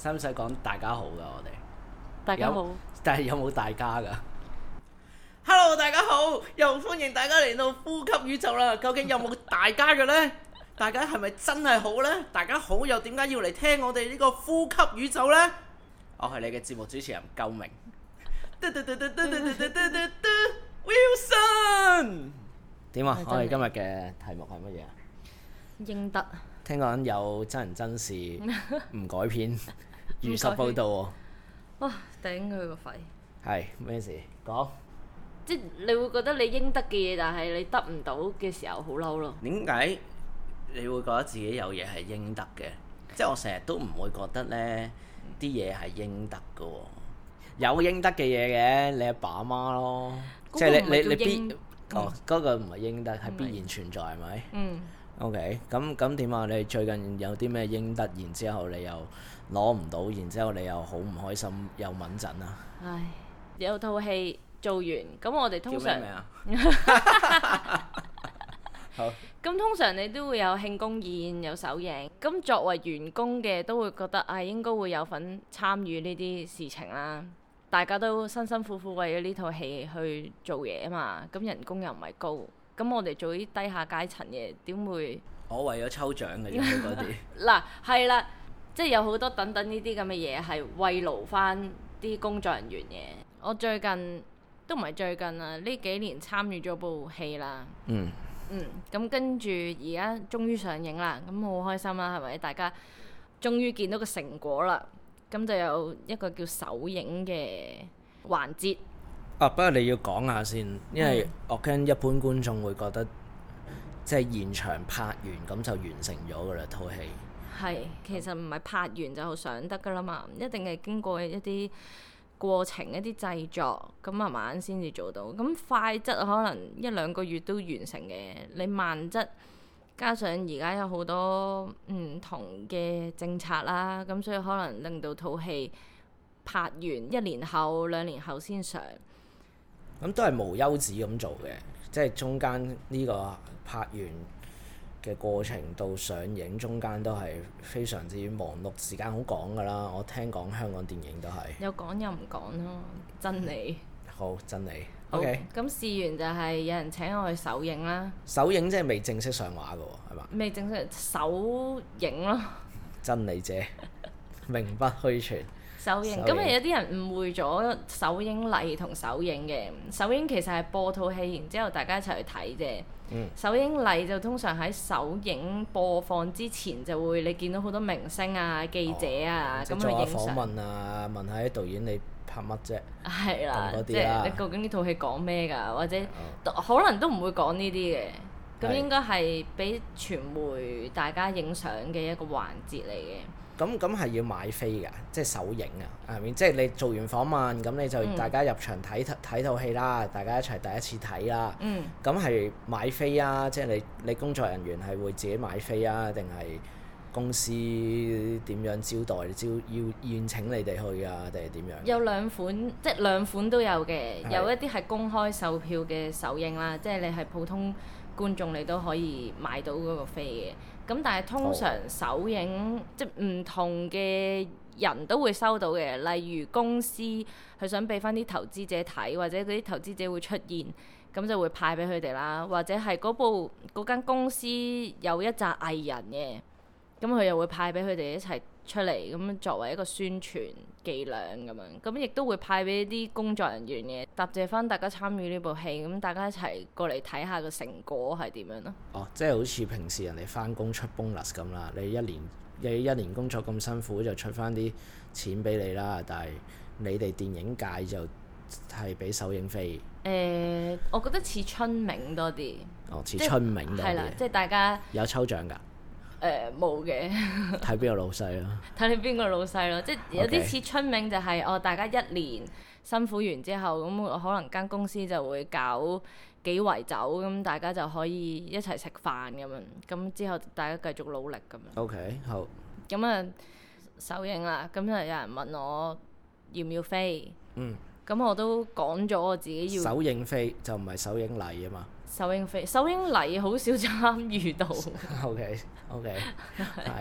使唔使講大家好噶？我哋大家好， 但係有冇大家噶？Hello， 大家好，又歡迎大家嚟到呼吸宇宙啦。究竟有冇大家嘅呢？大家係咪真係好呢？大家好又點解要嚟聽我哋呢個呼吸宇宙呢？我係你嘅節目主持人鳩明。Wilson， 點啊？我哋今日嘅題目係乜嘢啊？ 應得。 聽講有真人真事，唔改編，如實報導喎。 哇！頂佢個肺。係咩事？講。 即係你會覺得你應得嘅嘢，但係你得唔到嘅時候，好嬲咯。 點解你會覺得自己有嘢係應得嘅？即係我成日都唔會覺得呢啲嘢係應得嘅喎。有應得嘅嘢嘅，你阿爸阿媽咯。即係你必嗰個唔係應得，係必然存在係咪？嗯。OK，咁點啊？你最近有啲咩應得，然之後你又攞唔到，然之後你又好唔開心，又敏陣啊？ 唉，有套戲做完，咁我哋通常叫咩名啊？好。 咁通常你都會有慶功宴，有首映。咁作為員工嘅都會覺得應該會有份參與呢啲事情啦。大家都辛辛苦苦為咗呢套戲去做嘢啊嘛，咁人工又唔係高。咁我哋做啲低下階層嘅，點會？我為咗抽獎嘅啫，嗰啲。 嗱，係啦，即係有好多等等呢啲咁嘅嘢，係慰勞翻啲工作人員嘅。我最近都唔係最近啊，呢幾年參與咗部戲啦。咁跟住而家終於上映啦，咁好開心啦，係咪？大家終於見到個成果啦，咁就有一個叫首映嘅環節。 不過你要講下先，因為我驚一般觀眾會覺得即係現場拍完咁就完成咗噶啦套戲。 係，其實唔係拍完就上得噶啦嘛，一定係經過一啲過程、一啲製作，咁慢慢先至做到。咁快則可能一兩個月都完成嘅，你慢則加上而家有好多唔同嘅政策啦，咁所以可能令到套戲拍完1年後、2年後先上。 咁都係無休止咁做嘅，即係中間呢個拍完嘅過程到上映中間都係非常之忙碌，時間好趕㗎啦。我聽講香港電影都係有趕又唔趕咯，真理。 好，真理。 好 OK。咁試完就係有人請我去首映啦。 首映即係未正式上畫㗎喎，係嘛？ 未正式首映咯。 真理姐，名不虛傳。 首映咁有啲人誤會咗首映禮同首映嘅。首映其實係播套戲，然之後大家一齊去睇啫。首映禮就通常喺首映播放之前就會你見到好多明星啊、記者啊咁去影相。做下訪問啊，問下啲導演你拍乜啫？係啦，即係你究竟呢套戲講咩㗎？或者可能都唔會講呢啲嘅。咁應該係俾傳媒大家影相嘅一個環節嚟嘅。 咁係要買飛㗎，即係首映啊，係咪？即係你做完訪問，咁你就大家入場睇套戲啦，大家一齊第一次睇啦。咁係買飛啊，即係你工作人員係會自己買飛啊，定係公司點樣招待？要宴請你哋去啊，定係點樣？有兩款，即係兩款都有嘅。有一啲係公開售票嘅首映啦，即係你係普通觀眾你都可以買到嗰個飛嘅。咁但係通常首映即係唔同嘅人都會收到嘅，例如公司佢想俾翻啲投資者睇，或者嗰啲投資者會出現，咁就會派俾佢哋啦。或者係嗰間公司有一紮藝人嘅，咁佢又會派俾佢哋一齊出嚟，咁作為一個宣傳伎倆咁樣。咁亦都會派俾啲工作人員嘅，答謝翻大家參與呢部戲，咁大家一齊過嚟睇下個成果係點樣咯。即係好似平時人哋翻工出 bonus 咁啦，你一年工作咁辛苦就出翻啲錢俾你啦，但係你哋電影界就係俾首映飛。我覺得似春茗多啲。似春茗多啲。係啦，即係大家有抽獎㗎。冇嘅。睇邊個老細咯？睇你邊個老細咯，即係有啲似春茗就係大家一年辛苦完之後，咁可能間公司就會搞幾圍酒，咁大家就可以一齊食飯咁樣，咁之後大家繼續努力咁樣。OK， 好。咁首映啦，咁就有人問我要唔要飛？咁我都講咗我自己要。首映飛就唔係首映禮啊嘛。首映禮好少參與到。OK，係。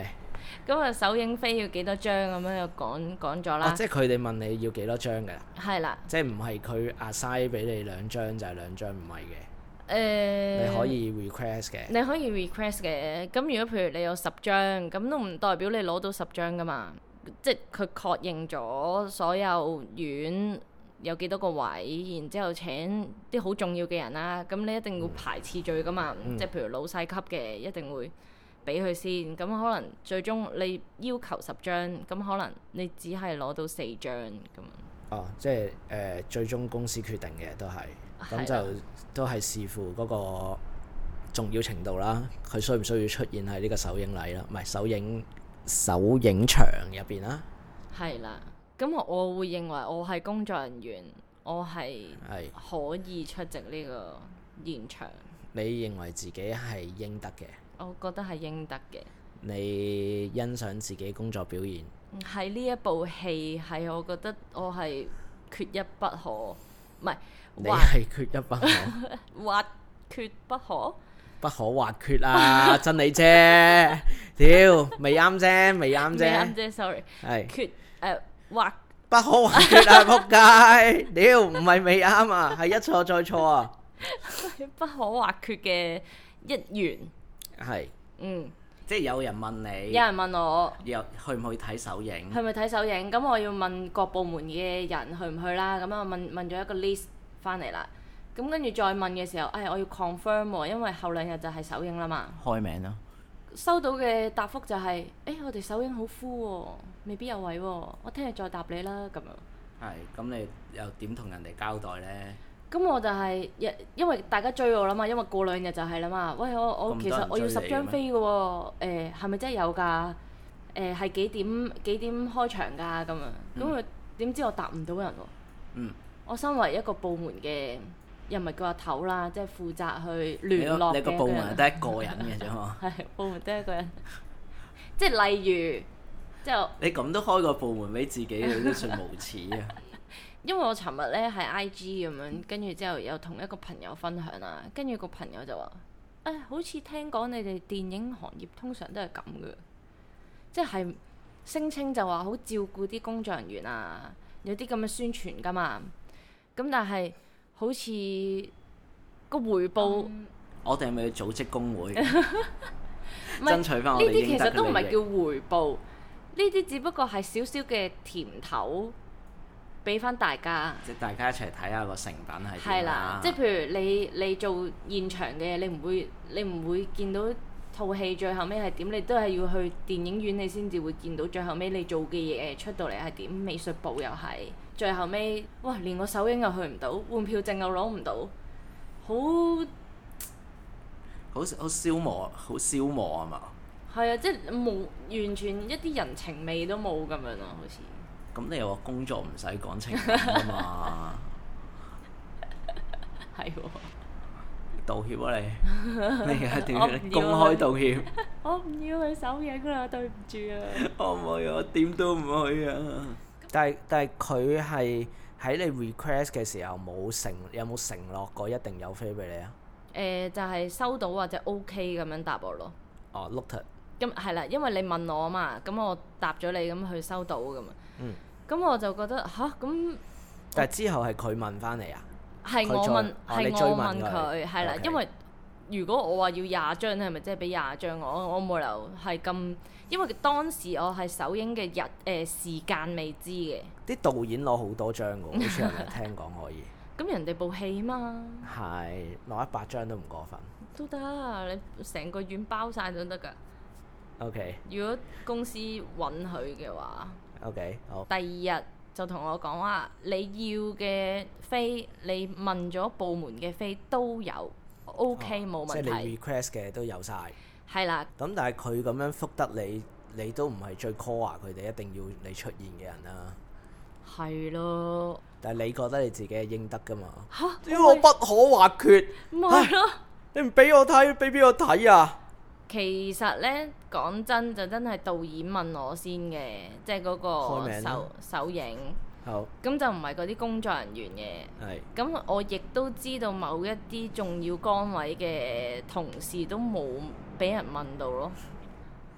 咁啊，首映飛要幾多張咁樣又講咗啦。 即係佢哋問你要幾多張㗎？ 係啦。 即係唔係佢 assign 俾你2張就係2張，唔係嘅。你可以 request 嘅。 你可以 request 嘅。咁如果譬如你有10張，咁都唔代表你攞到10張㗎嘛。即係佢確認咗所有院有幾多個位，然之後請啲好重要嘅人啦。咁你一定要排次序㗎嘛。即係譬如老細級嘅，一定會俾佢先。咁可能最終你要求10張，咁可能你只係攞到4張咁。 即係最終公司決定嘅都係，咁就都係視乎嗰個重要程度啦。佢需唔需要出現喺呢個首映禮啦？唔係首映場入邊啦。係啦，咁我會認為我係工作人員，我係可以出席呢個現場。 你認為自己係應得嘅？ 我覺得係應得嘅。 你欣賞自己工作表現？ 喺呢一部戲係我覺得我係缺一不可，唔係你係缺一不可， 或缺不可。 不可或缺啊！真理啫，屌未啱啫，未啱啫 ，sorry， 係缺或不可或缺啊！仆街，屌唔係未啱啊，係一錯再錯啊！ 不可或缺嘅一員係，即係有人問你， 有人問我， 又去唔去睇首映？ 去唔去睇首映？咁我要問各部門嘅人去唔去啦。咁我問咗一個 list 翻嚟啦。咁跟住再問嘅時候，我要 confirm 喎，因為後2日就係首映啦嘛。開名咯。收到嘅答覆就係，我哋首映好 full 喎，未必有位喎，我聽日再答你啦咁樣。 係，咁你又點同人哋交代呢？ 咁我就係，因為大家追我啦嘛，因為過2日就係啦嘛。喂，我其實我要10張飛嘅喎，係咪真係有㗎？係幾點開場㗎？咁樣，咁佢點知我答唔到人喎？我身為一個部門嘅。又唔係叫阿頭啦，即係負責去聯絡嘅。你個部門得一個人嘅啫嘛。係部門得一個人，即係例如，即係你咁都開個部門俾自己，你都算無恥啊！因為我尋日咧係 IG 咁樣，跟住之後有同一個朋友分享啦，跟住個朋友就話：好似聽講你哋電影行業通常都係咁嘅，即係聲稱就話好照顧啲工作人員啊，有啲咁嘅宣傳㗎嘛。咁但係好似個回報，我哋係咪要組織工會爭取翻我哋應得嘅利益？呢啲其實都唔係叫回報，呢啲只不過係少少嘅甜頭，俾翻大家。即係大家一齊睇下個成品係點啦。即係譬如你做現場嘅，你唔會見到套戲最後尾係點，你都係要去電影院你先至會見到最後尾你做嘅嘢出到嚟係點。美術部又係。最後尾，哇！連個首映又去唔到，換票證又攞唔到，好消磨，好消磨啊嘛！係啊，即係冇完全一啲人情味都冇咁樣咯，好似。咁你又話工作唔使講情感啊嘛？係喎。道歉啊你！你而家點公開道歉？我唔要去首映啦，對唔住啊！我唔去，我點都唔去啊！但係佢係喺你 request 嘅時候有冇承諾過一定有飛俾你啊？就係收到或者 OK 咁樣答我咯。哦，looked。咁係啦，因為你問我啊嘛，咁我答咗你，咁佢收到咁啊。咁我就覺得咁。但係之後係佢問翻你啊？係我問佢，係啦，因為如果我話要20張，係咪即係俾20張我冇理由係咁。因為當時我係首映嘅時間未知嘅。啲導演攞好多張㗎，好似係咪聽講可以？咁人哋部戲嘛。係攞100張都唔過分。都得，你成個院包晒都得㗎。OK。如果公司允許嘅話。OK，好。第2日就同我講話，你要嘅飛，你問咗部門嘅飛都有 ，OK 冇問題。即係你 request 嘅都有晒。係啦，咁但係佢咁樣覆得你，你都唔係最 core 佢哋一定要你出現嘅人啦。係咯。但係你覺得你自己係應得㗎嘛？嚇！因為我不可或缺。唔係咯。你唔俾我睇，俾邊個睇啊？其實呢，講真就真係導演問我先嘅，即係嗰個首映。好。咁就唔係嗰啲工作人員嘅。係。咁我亦都知道某一啲重要崗位嘅同事都冇俾人問到咯。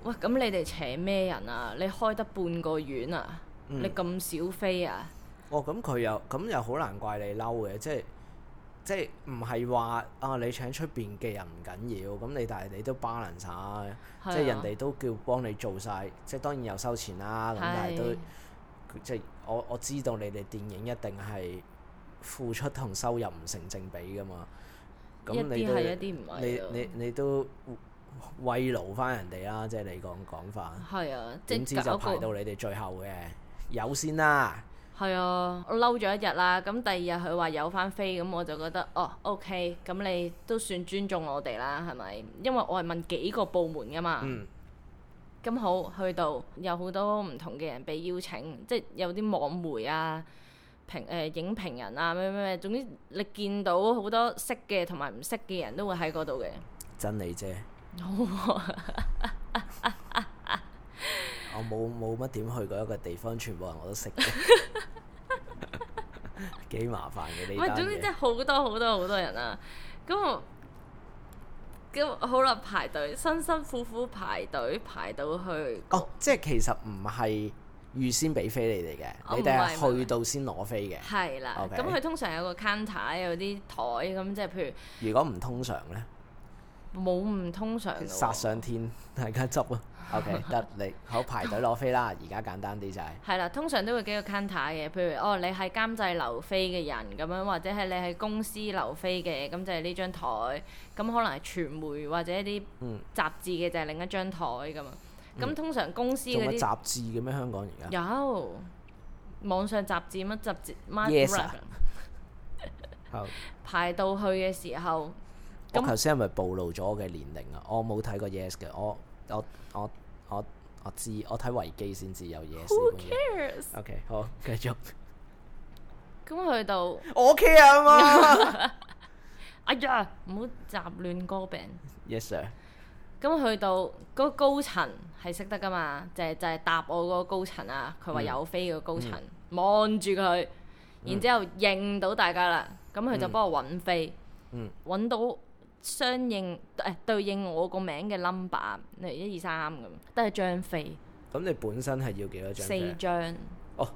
喂，咁你哋請咩人啊？你開得半個院啊？你咁少飛啊？ 哦，咁佢又好難怪你嬲嘅，即係唔係話啊你請出邊嘅人唔緊要，咁但係你都 balance 晒，即係人哋都叫幫你做晒，即係當然有收錢啦，咁但係都即係我知道你哋電影一定係付出同收入唔成正比噶嘛，咁你都一啲唔係你都慰勞翻人哋啦，即係你講法。 係啊， 點知就排到你哋最後嘅有先啦。 係啊，我嬲咗一日啦，咁第二日佢話有翻飛，咁我就覺得哦 OK，咁你都算尊重我哋啦，係咪？因為我係問幾個部門噶嘛。咁好，去到有好多唔同嘅人被邀請，即係有啲網媒啊、影評人啊咩，總之你見到好多識嘅同埋唔識嘅人都會喺嗰度嘅。 真理啫。我冇乜點去過一個地方，全部人我都識嘅，幾麻煩嘅呢單嘢。 總之真係好多人啊！咁好啦，排隊，辛辛苦苦排隊排到去。 哦，即係其實唔係預先俾飛你哋嘅，你哋係去到先攞飛嘅。 係啦，咁佢通常有個 counter， 有啲台咁，即係譬如。 如果唔通常呢？ 冇唔通常嘅喎。 殺上天，大家執啊！OK， 得你好排隊攞飛啦，而家簡單啲就係。係啦，通常都會幾個 counter 嘅，譬如你係監製留飛嘅人咁樣，或者係你係公司留飛嘅，咁就係呢張台。咁可能係傳媒或者一啲雜誌嘅就係另一張台咁啊。咁通常公司嗰啲。仲有雜誌嘅咩？香港而家有網上雜誌乜雜誌 ？Yes 好。 排到去嘅時候。 我頭先係咪暴露咗我嘅年齡啊？我冇睇過 Yes 嘅，我知，我睇維基先知有 Yes。 Who cares？ OK， 好，繼續。 咁去到我 care 啊嘛！ 哎呀，唔好雜亂歌病。 Yes sir。 咁去到嗰個高層係識得噶嘛？就係答我嗰個高層啊！佢話有飛個高層，望住佢，然之後認到大家啦。咁佢就幫我揾飛，揾到。相應對應我個名嘅 number， 例如1、2、3咁，都係張飛。咁你本身係要幾多張飛 ？4張。哦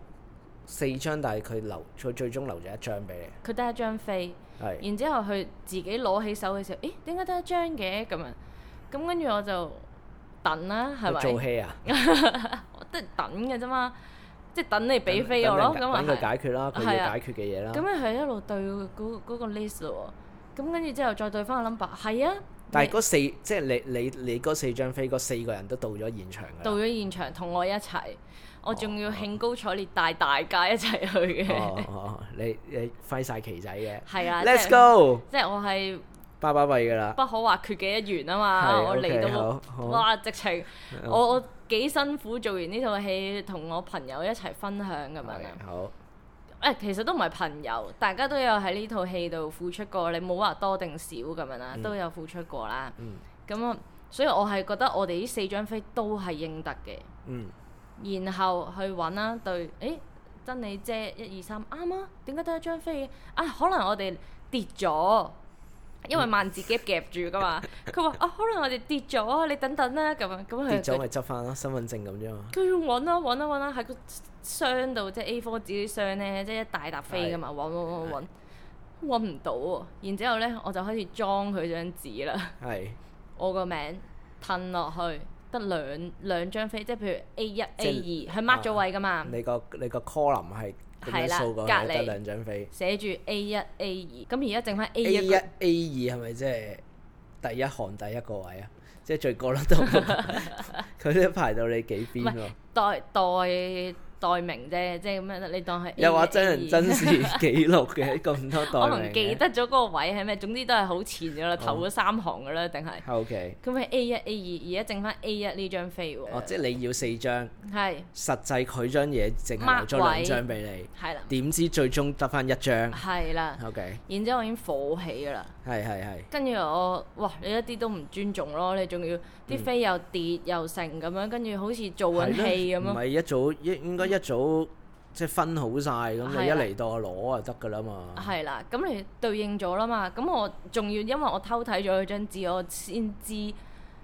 ，4張，但係佢最終留咗1張俾你。 佢得1張飛。係。然之後佢自己攞起手嘅時候，咦？點解得1張嘅？咁啊，咁跟住我就等啦，係咪？ 做戲啊？ 我都係等嘅啫嘛，即係等你俾飛我咯。咁啊， 等佢解決啦，佢要解決嘅嘢啦。 咁咪係一路對嗰個 list 咯。咁跟住之後再對翻個 number， 係啊！ 但係即係你嗰4張飛，嗰4個人都到咗現場㗎。 到咗現場同我一齊，我仲要興高采烈帶大家一齊去嘅。 你揮晒旗仔嘅。 係啊 ，Let's go！ 即係我係巴閉㗎啦， 不可或缺嘅一員啊嘛！我嚟到，哇！直情我幾辛苦做完呢套戲，同我朋友一齊分享咁樣啊。 好。 其實都唔係朋友，大家都有喺呢套戲度付出過，你冇話多定少咁樣啦，都有付出過啦。咁所以我係覺得我哋呢4張飛都係應得嘅。然後去揾啦，對，真理姐1、2、3啱啊？點解得1張飛嘅？可能我哋跌咗，因為萬字夾夾住噶嘛。佢話可能我哋跌咗，你等等啦咁樣。咁跌咗咪執翻咯，身份證咁啫嘛。 佢要揾啦，喺個箱度，即係 A4 紙啲箱咧，即係一大沓飛噶嘛，揾唔到喎。然之後咧，我就開始裝佢張紙啦。係。我個名褪落去，得兩張飛，即係譬如 A1、A2，佢 mark 咗位噶嘛。你個 column 係咁樣數過去，得2張飛。 寫住 A1、A2，咁而家剩翻 A1。 A1、A2 係咪即係第一行第一個位啊？即係最角落度，佢都排到你幾邊喎？代名啫，即係咁樣，你當係又話真人真事記錄嘅咁多代名。 我唔記得咗嗰個位係咩，總之都係好前噶啦，頭嗰3行噶啦，定係。 OK。咁係 A1、A2，而家剩翻 A1 呢張飛喎。 即係你要4張。 係。實際佢張嘢淨係留咗2張俾你。係啦。點知最終得翻1張。係啦。OK。然之後我已經火起噶啦。係。跟住哇！你一啲都唔尊重咯，你仲要啲飛又跌又成咁樣，跟住好似做緊戲咁咯。唔係一早應該。一早即係分好晒，咁你一嚟到我攞就得噶啦嘛。係啦，咁你對應咗啦嘛。咁我仲要因為我偷睇咗佢張紙，我先知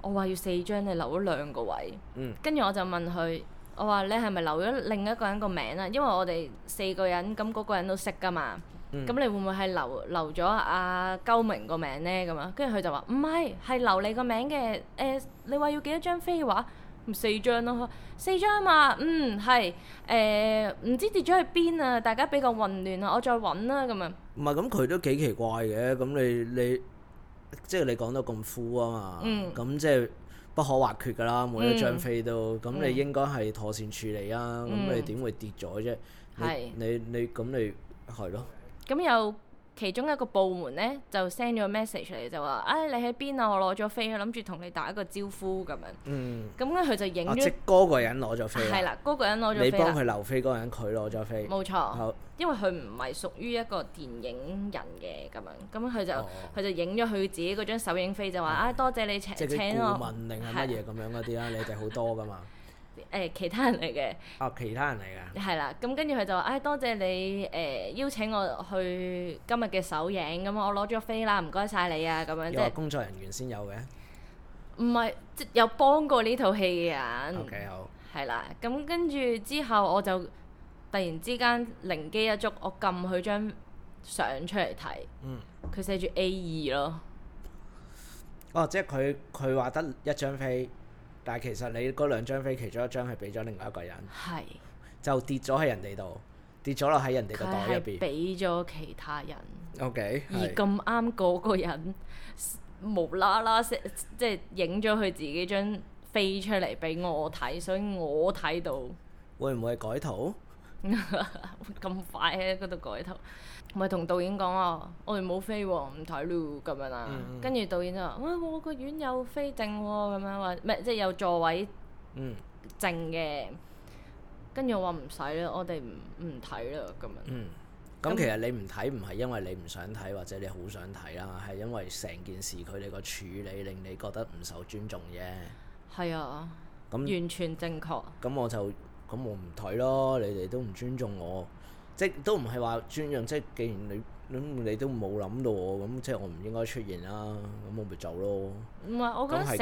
我話要4張，你留咗2個位。跟住我就問佢，我話你係咪留咗另一個人個名啊？因為我哋4個人，咁嗰個人都識㗎嘛。咁你會唔會係留咗阿鳩明個名呢？咁啊，跟住佢就話唔係，係留你個名嘅。你話要幾多張飛嘅話，4張咯，4張嘛。係唔知跌咗去邊啊？大家比較混亂啊，我再揾啦咁樣。 唔係咁，佢都幾奇怪嘅。咁你即係你講得咁 full 啊嘛。咁即係不可或缺㗎啦，每一張飛都。咁你應該係妥善處理啊。咁你點會跌咗啫？你咁你係咯。 咁有其中一個部門呢，就 send 咗 message 嚟，就話：你喺邊啊？我攞咗飛，諗住同你打一個招呼咁樣。咁咧佢就影咗。即嗰個人攞咗飛。係啦，嗰個人攞咗飛。你幫佢留飛嗰個人，佢攞咗飛。 冇錯。因為佢唔係屬於一個電影人嘅咁樣，咁佢就影咗佢自己嗰張首映飛，就話：多謝你請我。即係顧問定係乜嘢咁樣嗰啲啦？你哋好多噶嘛。 其他人嚟嘅。 其他人嚟㗎。係啦，咁跟住佢就話：多謝你邀請我去今日嘅首映，咁我攞咗飛啦，唔該晒你啊，咁樣。即係工作人員先有嘅。唔係，即有幫過呢套戲嘅人。 OK， 好。係啦，咁跟住之後我就突然之間靈機一觸，我撳佢張相出嚟睇。佢寫住 A2 咯。 即係佢話得一張飛。但係其實你嗰2張飛，其中一張係俾咗另外一個人，就跌咗喺人哋度，跌咗落喺人哋個袋入邊， 俾咗其他人。 OK， 而咁啱嗰個人無啦啦即係影咗佢自己張飛出嚟俾我睇，所以我睇到。 會唔會係改圖？ 咁快喺嗰度改圖？咪同導演講啊，我哋冇飛喎，唔睇咯咁樣啦。跟住導演就話：我個院有飛剩喎，咁樣話咩？即係有座位剩嘅。跟住我話唔使啦，我哋唔睇啦咁樣。 咁其實你唔睇唔係因為你唔想睇或者你好想睇啦，係因為成件事佢哋個處理令你覺得唔受尊重啫。係啊。完全正確。咁我唔睇咯，你哋都唔尊重我。即都唔係話尊重，即既然你都冇諗到我，咁即我唔應該出現啦，咁我咪走咯。唔係，我覺得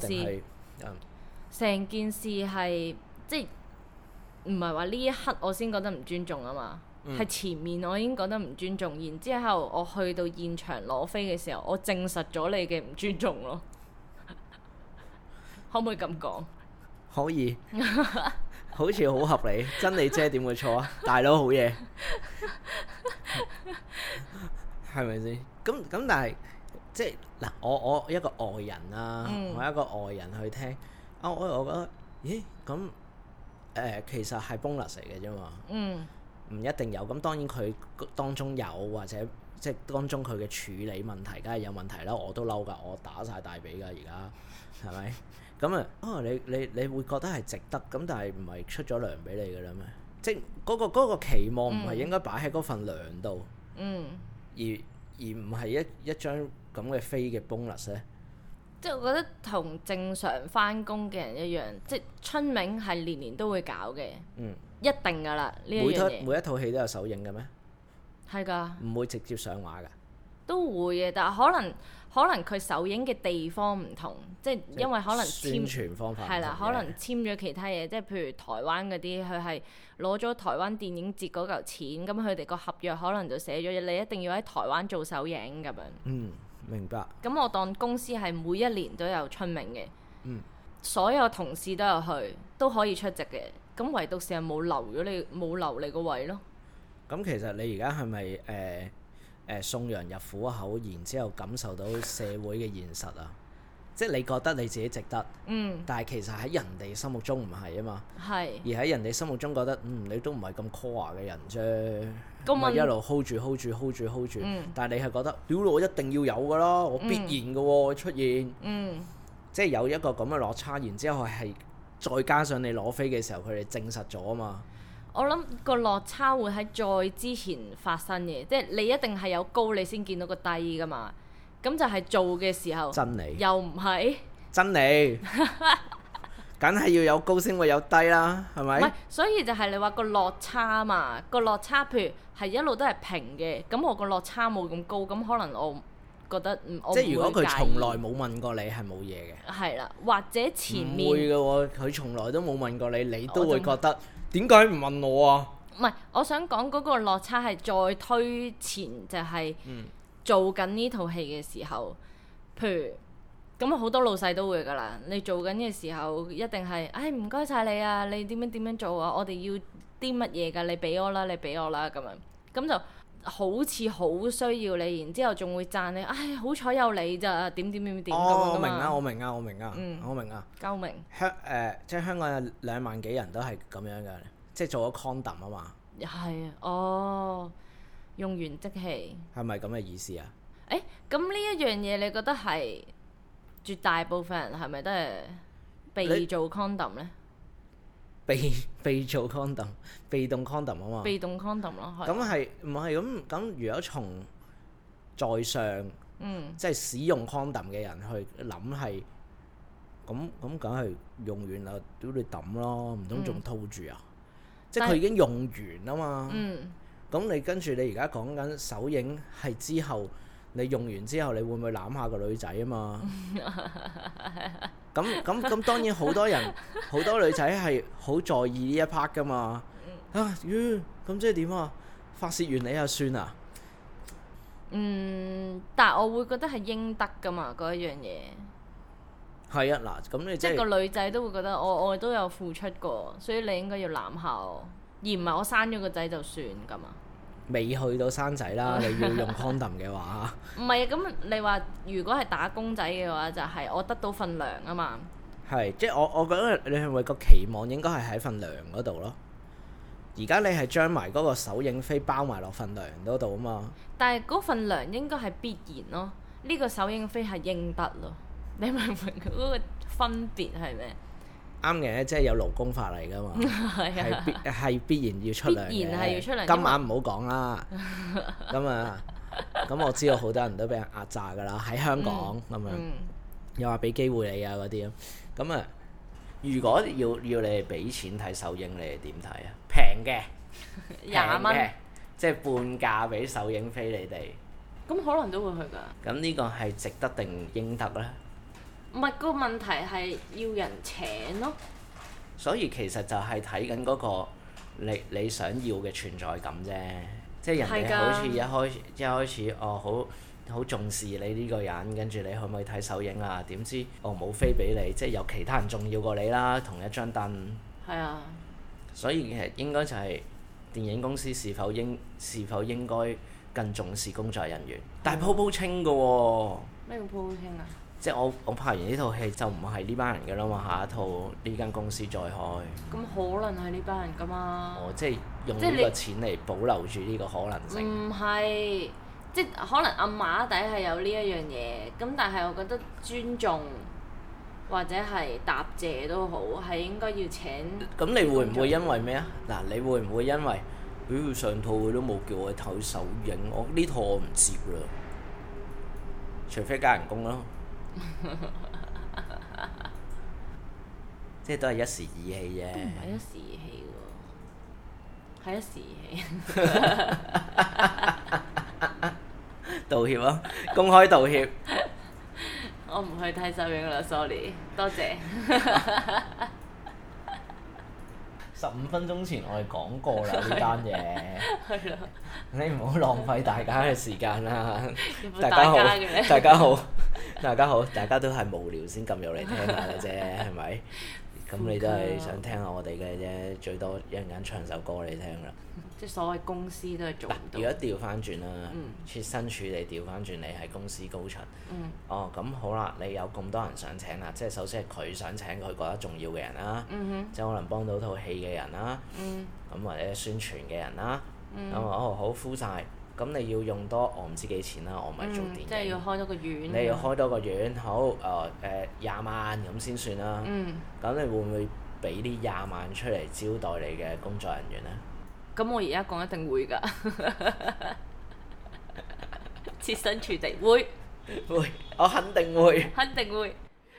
成件事係即唔係話呢一刻我先覺得唔尊重啊嘛，係前面我已經覺得唔尊重，然之後我去到現場攞飛嘅時候，我證實咗你嘅唔尊重咯。可唔可以咁講？可以。好似好合理，真理姐點會錯啊？大佬好嘢，係咪先？咁但係即係嗱，我一個外人啦，我一個外人去聽我覺得，咦咁其實係 bonus 嚟嘅啫嘛，唔一定有。咁當然佢當中有或者即係當中佢嘅處理問題，梗係有問題啦。我都嬲㗎，我打晒大髀㗎，而家係咪？咁你會覺得係值得，咁但係唔係出咗糧俾你嘅啦咩？即係嗰個期望唔係應該擺喺嗰份糧度，而唔係一張咁嘅飛嘅 bonus 咧？即係我覺得同正常返工嘅人一樣，即係春茗係年年都會搞嘅，一定㗎啦呢一樣嘢。每一套戲都有首映嘅咩？係㗎。唔會直接上畫㗎？都會嘅，但係可能佢首映嘅地方唔同，即係因為可能宣傳方法係啦，可能簽咗其他嘢，即係譬如台灣嗰啲，佢係攞咗台灣電影節嗰嚿錢，咁佢哋個合約可能就寫咗你一定要喺台灣做首映咁樣。明白。咁我當公司係每一年都有春茗嘅，所有同事都有去，都可以出席嘅，咁唯獨是係冇留你個位咯。咁其實你而家係咪送羊入虎口，然之後感受到社會嘅現實啊！即係你覺得你自己值得，但係其實喺人哋心目中唔係啊嘛，而喺人哋心目中覺得你都唔係咁 core 嘅人啫，咁咪一路 hold 住，但係你係覺得屌我一定要有㗎啦，我必然嘅喎出現，即係有一個咁嘅落差，然之後係再加上你攞飛嘅時候，佢哋證實咗啊嘛。我諗個落差會喺再之前發生嘅，即係你一定係有高你先見到個低噶嘛，咁就係做嘅時候真理又唔係真理，梗係要有高先會有低啦，係咪？唔係，所以就係你話個落差嘛，個落差譬如係一路都係平嘅，咁我個落差冇咁高，咁可能我覺得我即係如果佢從來冇問過你係冇嘢嘅。 係啦，或者前面唔會嘅喎，佢從來都冇問過你，你都會覺得點解唔問我啊？ 唔係，我想講嗰個落差係再推前，就係做緊呢套戲嘅時候，譬如咁好多老細都會㗎啦。你做緊嘅時候一定係，唉唔該晒你啊，你點樣做啊？我哋要啲乜嘢㗎？你俾我啦，咁樣，咁就好似好需要你，然之後仲會讚你，唉好彩有你咋，點咁樣我明啊，我明啊。 夠明。 即係香港有2萬幾人都係咁樣嘅，即係做咗 condom 啊嘛。 係啊，哦，用完即棄。係咪咁嘅意思啊？ 咁呢一樣嘢，你覺得係絕大部分人係咪都係被做 condom 呢？ 被做 condom， 被動 condom 啊嘛。被動 condom 咯，係。 咁係唔係咁？如果從在上，即係使用 condom 嘅人去諗係，咁梗係用完啦，屌你抌咯，唔通仲套住啊？即係佢已經用完啊嘛。咁你跟住你而家講緊首映係之後，你用完之後，你會唔會攬下個女仔啊嘛？咁當然好多人好多女仔係好在意呢一 part 噶嘛。咁即係點啊？發泄完你就算啊？ 但係我會覺得係應得噶嘛，嗰一樣嘢。係啊，嗱，咁你即係個女仔都會覺得我都有付出過，所以你應該要攬下我，而唔係我生咗個仔就算噶嘛。 未去到生仔啦，你要用 condom 嘅話。 唔係啊，咁你話如果係打工仔嘅話，就係我得到份糧啊嘛。 係，即係我覺得你係咪個期望應該係喺份糧嗰度咯？而家你係將埋嗰個首映飛包埋落份糧嗰度啊嘛。但係嗰份糧應該係必然咯，呢個首映飛係應得咯。你明唔明嗰個分別係咩？ 啱嘅，即係有勞工法嚟㗎嘛，係必然要出糧嘅。必然係要出糧。今晚唔好講啦。咁我知道好多人都俾人壓榨㗎啦，喺香港咁樣，又話俾機會你啊嗰啲咁啊。如果要你哋俾錢睇首映，你哋點睇啊？平嘅，20蚊，即係半價俾首映飛你哋。 咁可能都會去㗎。 咁呢個係值得定應得咧？ 唔係，個問題係要人請咯。 所以其實就係睇緊嗰個你想要嘅存在感啫。即係人哋好似一開始好重視你呢個人，跟住你可唔可以睇首映啊？點知冇飛俾你，即係有其他人重要過你啦，同一張凳。係啊。所以其實應該就係電影公司是否應該更重視工作人員？但係鋪清㗎喎。咩叫鋪清啊？即係我拍完呢套戲就唔係呢班人㗎啦嘛，下一套呢間公司再開。咁可能係呢班人㗎嘛？ 即係用呢個錢嚟保留住呢個可能性。 唔係，即係可能暗碼底係有呢一樣嘢，咁但係我覺得尊重或者係答謝都好，係應該要請。 咁你會唔會因為咩啊？嗱，你會唔會因為上套佢都冇叫我睇首映，我呢套我唔接啦，除非加人工咯。即係都係一時意氣啫。都唔係一時意氣喎，係一時意氣。 道歉啊！公開道歉。 我唔去睇首映啦 ，sorry， 多謝。 15分鐘前我哋講過啦呢單嘢。係咯。你唔好浪費大家嘅時間啦。大家好，大家都係無聊先撳入嚟聽下嘅啫，係咪？咁你都係想聽下我哋嘅啫，最多一陣間唱首歌你聽啦。 即係所謂公司都係做唔到。 如果調翻轉啦，設身處地調翻轉，你係公司高層。咁好啦，你有咁多人想請啦，即係首先係佢想請佢覺得重要嘅人啦，即係可能幫到套戲嘅人啦，咁或者宣傳嘅人啦，咁好敷晒。咁你要用多我唔知幾錢啦，我唔係做電影。 即係要開多個院。 你要開多個院，好20萬咁先算啦。咁你會唔會俾啲20萬出嚟招待你嘅工作人員呢？ 咁我而家講一定會㗎，設身處地會， 我肯定會。 肯定會。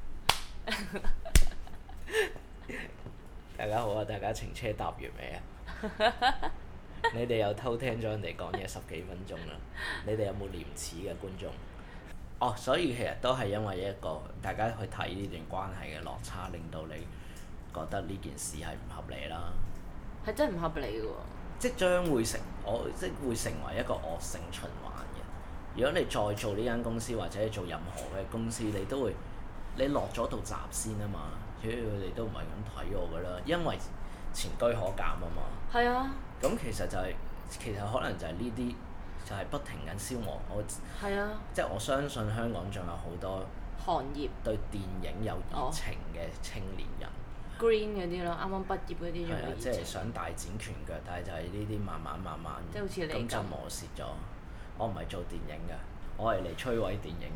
大家好啊！大家程車搭完未啊？你哋又偷聽咗人哋講嘢10幾分鐘啦！你哋有冇廉恥嘅觀眾？ 所以其實都係因為一個大家去睇呢段關係嘅落差，令到你覺得呢件事係唔合理啦。 係真係唔合理嘅喎。即係將會會成為一個惡性循環嘅。如果你再做呢間公司或者做任何嘅公司，你落咗道閘先啊嘛。主要佢哋都唔係咁睇我㗎啦，因為前車可鑑啊嘛。係啊。咁其實可能就係呢啲。就係不停緊消磨即係我相信香港仲有好多行業對電影有熱情嘅青年人 ，Green 嗰啲咯，啱啱畢業嗰啲仲有熱情， 即係想大展拳腳，但係就係呢啲慢慢， 即係好似你咁就磨蝕咗。我唔係做電影嘅，我係嚟摧毀電影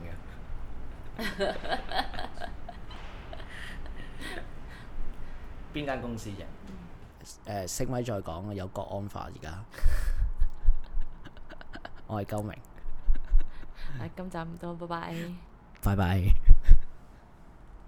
嘅。邊間公司啫？升威再講，有國安法而家。我係鳩明。 今集唔多，拜拜。 拜拜。